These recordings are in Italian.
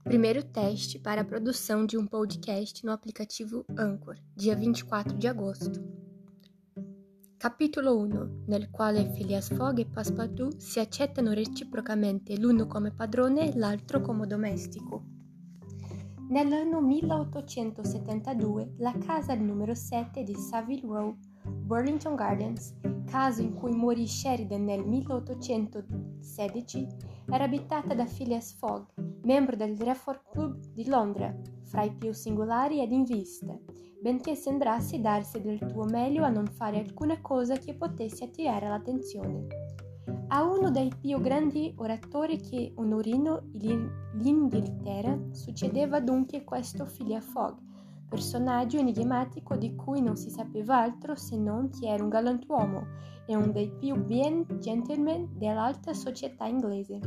Primeiro teste para a produção de um podcast no aplicativo Anchor, dia 24 di agosto. Capitolo 1, nel quale Phileas Fogg e Passepartout si accettano reciprocamente l'uno come padrone e l'altro come domestico. Nell'anno 1872, la casa al numero 7 di Savile Row, Burlington Gardens, caso in cui morì Sheridan nel 1816, era abitata da Phileas Fogg, membro del Reform Club di Londra, fra i più singolari ed in vista, benché sembrasse darsi del tuo meglio a non fare alcuna cosa che potesse attirare l'attenzione. A uno dei più grandi oratori che onorino l'Inghilterra succedeva dunque questo Phileas Fogg, personaggio enigmatico di cui non si sapeva altro se non che era un galantuomo e uno dei più bien gentleman dell'alta società inglese.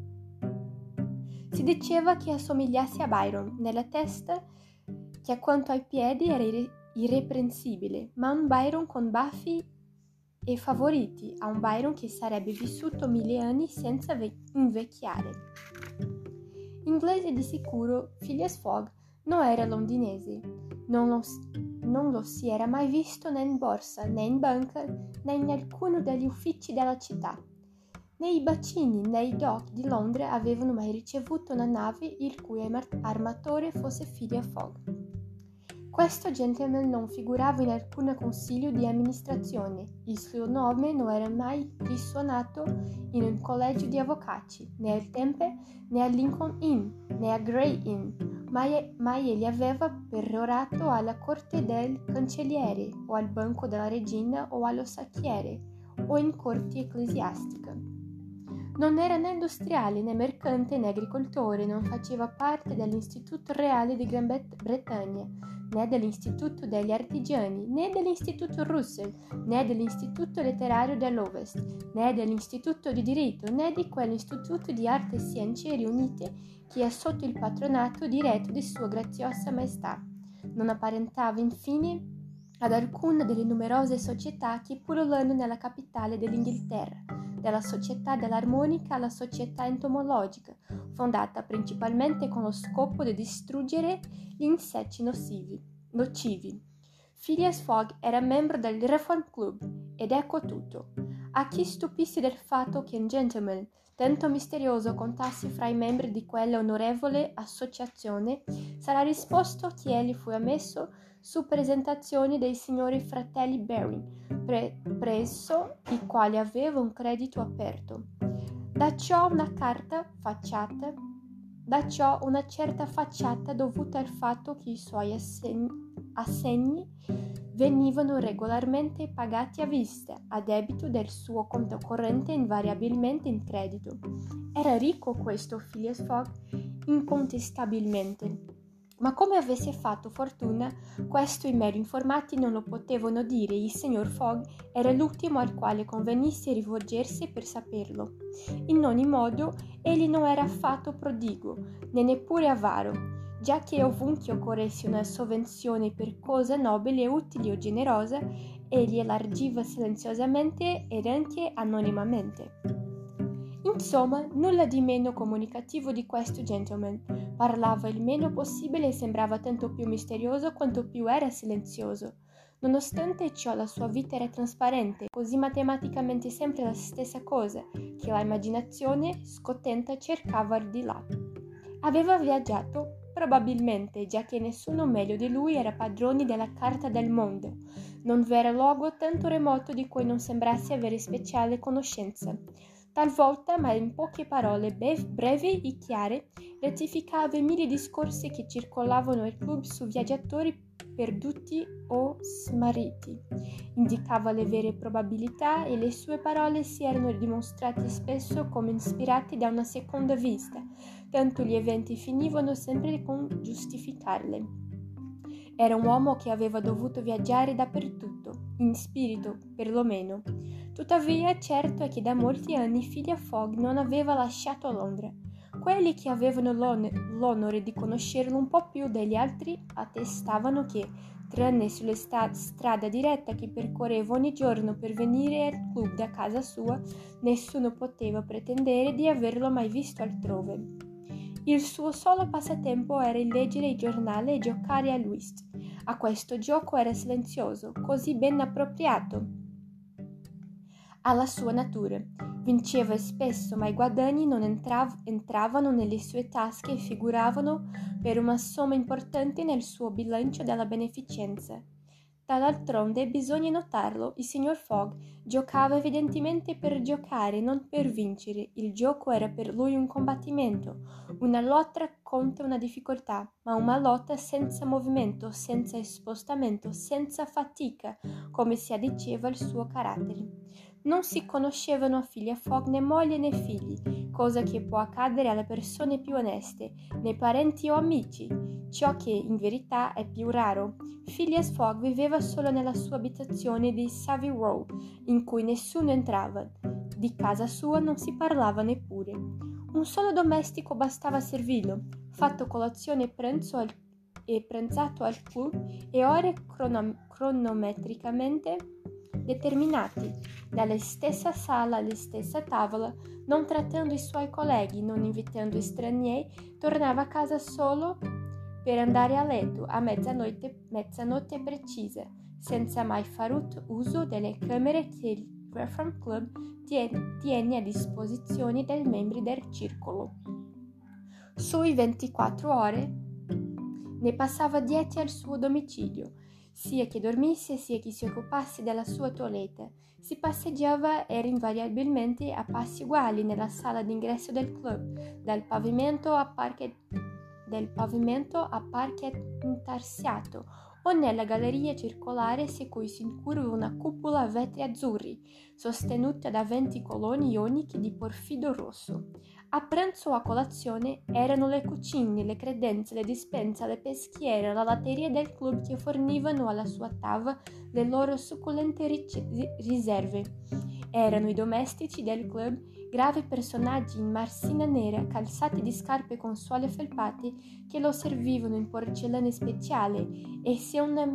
Si diceva che assomigliasse a Byron nella testa, che a quanto ai piedi era irreprensibile, ma un Byron con baffi e favoriti, a un Byron che sarebbe vissuto 1000 anni senza invecchiare. Inglese di sicuro, Phileas Fogg non era londinese, non lo si era mai visto né in borsa, né in banca, né in alcuno degli uffici della città. Né i bacini né i dock di Londra avevano mai ricevuto una nave il cui armatore fosse Phileas Fogg. Questo gentleman non figurava in alcun consiglio di amministrazione, il suo nome non era mai risuonato in un collegio di avvocati, né al Temple, né a Lincoln Inn, né a Grey Inn, mai egli aveva perorato alla corte del cancelliere, o al banco della regina, o allo sacchiere, o in corti ecclesiastiche. Non era né industriale, né mercante, né agricoltore, non faceva parte dell'Istituto Reale di Gran Bretagna, né dell'Istituto degli Artigiani, né dell'Istituto Russell, né dell'Istituto Letterario dell'Ovest, né dell'Istituto di Diritto, né di quell'Istituto di Arte e Scienze riunite che è sotto il patronato diretto di Sua Graziosa Maestà. Non apparentava infine ad alcuna delle numerose società che pullulano nella capitale dell'Inghilterra, dalla società dell'armonica alla società entomologica, fondata principalmente con lo scopo di distruggere gli insetti nocivi. Phileas Fogg era membro del Reform Club, ed ecco tutto. A chi stupisse del fatto che un gentleman tanto misterioso contasse fra i membri di quella onorevole associazione, sarà risposto che egli fu ammesso su presentazione dei signori fratelli Baring, presso i quali aveva un credito aperto. Da ciò una certa facciata dovuta al fatto che i suoi assegni venivano regolarmente pagati a vista, a debito del suo conto corrente invariabilmente in credito. Era ricco questo Phileas Fogg, incontestabilmente. Ma come avesse fatto fortuna, questo i meno informati non lo potevano dire. Il signor Fogg era l'ultimo al quale convenisse rivolgersi per saperlo. In ogni modo, egli non era affatto prodigo, né neppure avaro, già che ovunque occorresse una sovvenzione per cosa nobile, utile o generosa, egli elargiva silenziosamente ed anche anonimamente. Insomma, nulla di meno comunicativo di questo gentleman. Parlava il meno possibile e sembrava tanto più misterioso quanto più era silenzioso. Nonostante ciò la sua vita era trasparente, così matematicamente sempre la stessa cosa, che la immaginazione, scottenta, cercava al di là. Aveva viaggiato? Probabilmente, già che nessuno meglio di lui era padrone della carta del mondo. Non v'era luogo tanto remoto di cui non sembrasse avere speciale conoscenza. Talvolta, ma in poche parole brevi e chiare, rettificava i 1000 discorsi che circolavano al club su viaggiatori perduti o smarriti. Indicava le vere probabilità e le sue parole si erano dimostrate spesso come ispirate da una seconda vista, tanto gli eventi finivano sempre con giustificarle. Era un uomo che aveva dovuto viaggiare dappertutto, in spirito, perlomeno. Tuttavia, certo è che da molti anni Phileas Fogg non aveva lasciato Londra. Quelli che avevano l'onore di conoscerlo un po' più degli altri attestavano che, tranne sulla strada diretta che percorreva ogni giorno per venire al club da casa sua, nessuno poteva pretendere di averlo mai visto altrove. Il suo solo passatempo era il leggere il giornale e giocare a whist. A questo gioco era silenzioso, così ben appropriato alla sua natura. Vinceva spesso, ma i guadagni non entravano nelle sue tasche e figuravano per una somma importante nel suo bilancio della beneficenza. Dall'altronde, bisogna notarlo, il signor Fogg giocava evidentemente per giocare, non per vincere. Il gioco era per lui un combattimento, una lotta contro una difficoltà, ma una lotta senza movimento, senza spostamento, senza fatica, come si addiceva al suo carattere. Non si conoscevano a Phileas Fogg né moglie né figli, cosa che può accadere alle persone più oneste, né parenti o amici, ciò che in verità è più raro. Phileas Fogg viveva solo nella sua abitazione di Savile Row, in cui nessuno entrava. Di casa sua non si parlava neppure. Un solo domestico bastava a servirlo, fatto colazione e pranzato al club e ore cronometricamente determinati, dalla stessa sala alla stessa tavola, non trattando i suoi colleghi, non invitando stranieri, tornava a casa solo per andare a letto a mezzanotte precisa, senza mai far uso delle camere che il Reform Club tiene a disposizione dei membri del circolo. Sui 24 ore ne passava 10 al suo domicilio, sia che dormisse sia che si occupasse della sua toilette. Si passeggiava era invariabilmente a passi uguali nella sala d'ingresso del club, dal pavimento a parquet intarsiato o nella galleria circolare su cui si incurva una cupola a vetri azzurri, sostenuta da 20 colonne ioniche di porfido rosso. A pranzo o a colazione erano le cucine, le credenze, le dispense, le peschiere, la latteria del club che fornivano alla sua tavola le loro succulente riserve. Erano i domestici del club, gravi personaggi in marsina nera, calzati di scarpe con suole felpate, che lo servivano in porcellane speciale e se una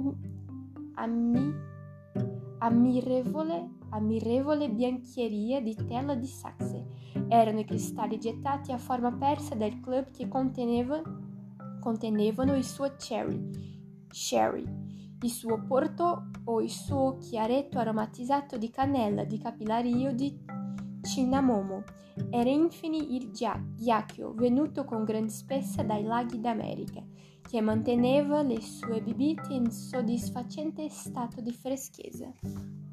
ammirevole biancheria di tela di Saxe. Erano i cristalli gettati a forma persa del club che contenevano il suo sherry, il suo porto o il suo chiaretto aromatizzato di cannella, di capillario, di cinnamomo. Era infine il ghiaccio, venuto con gran spessa dai laghi d'America, che manteneva le sue bibite in soddisfacente stato di freschezza.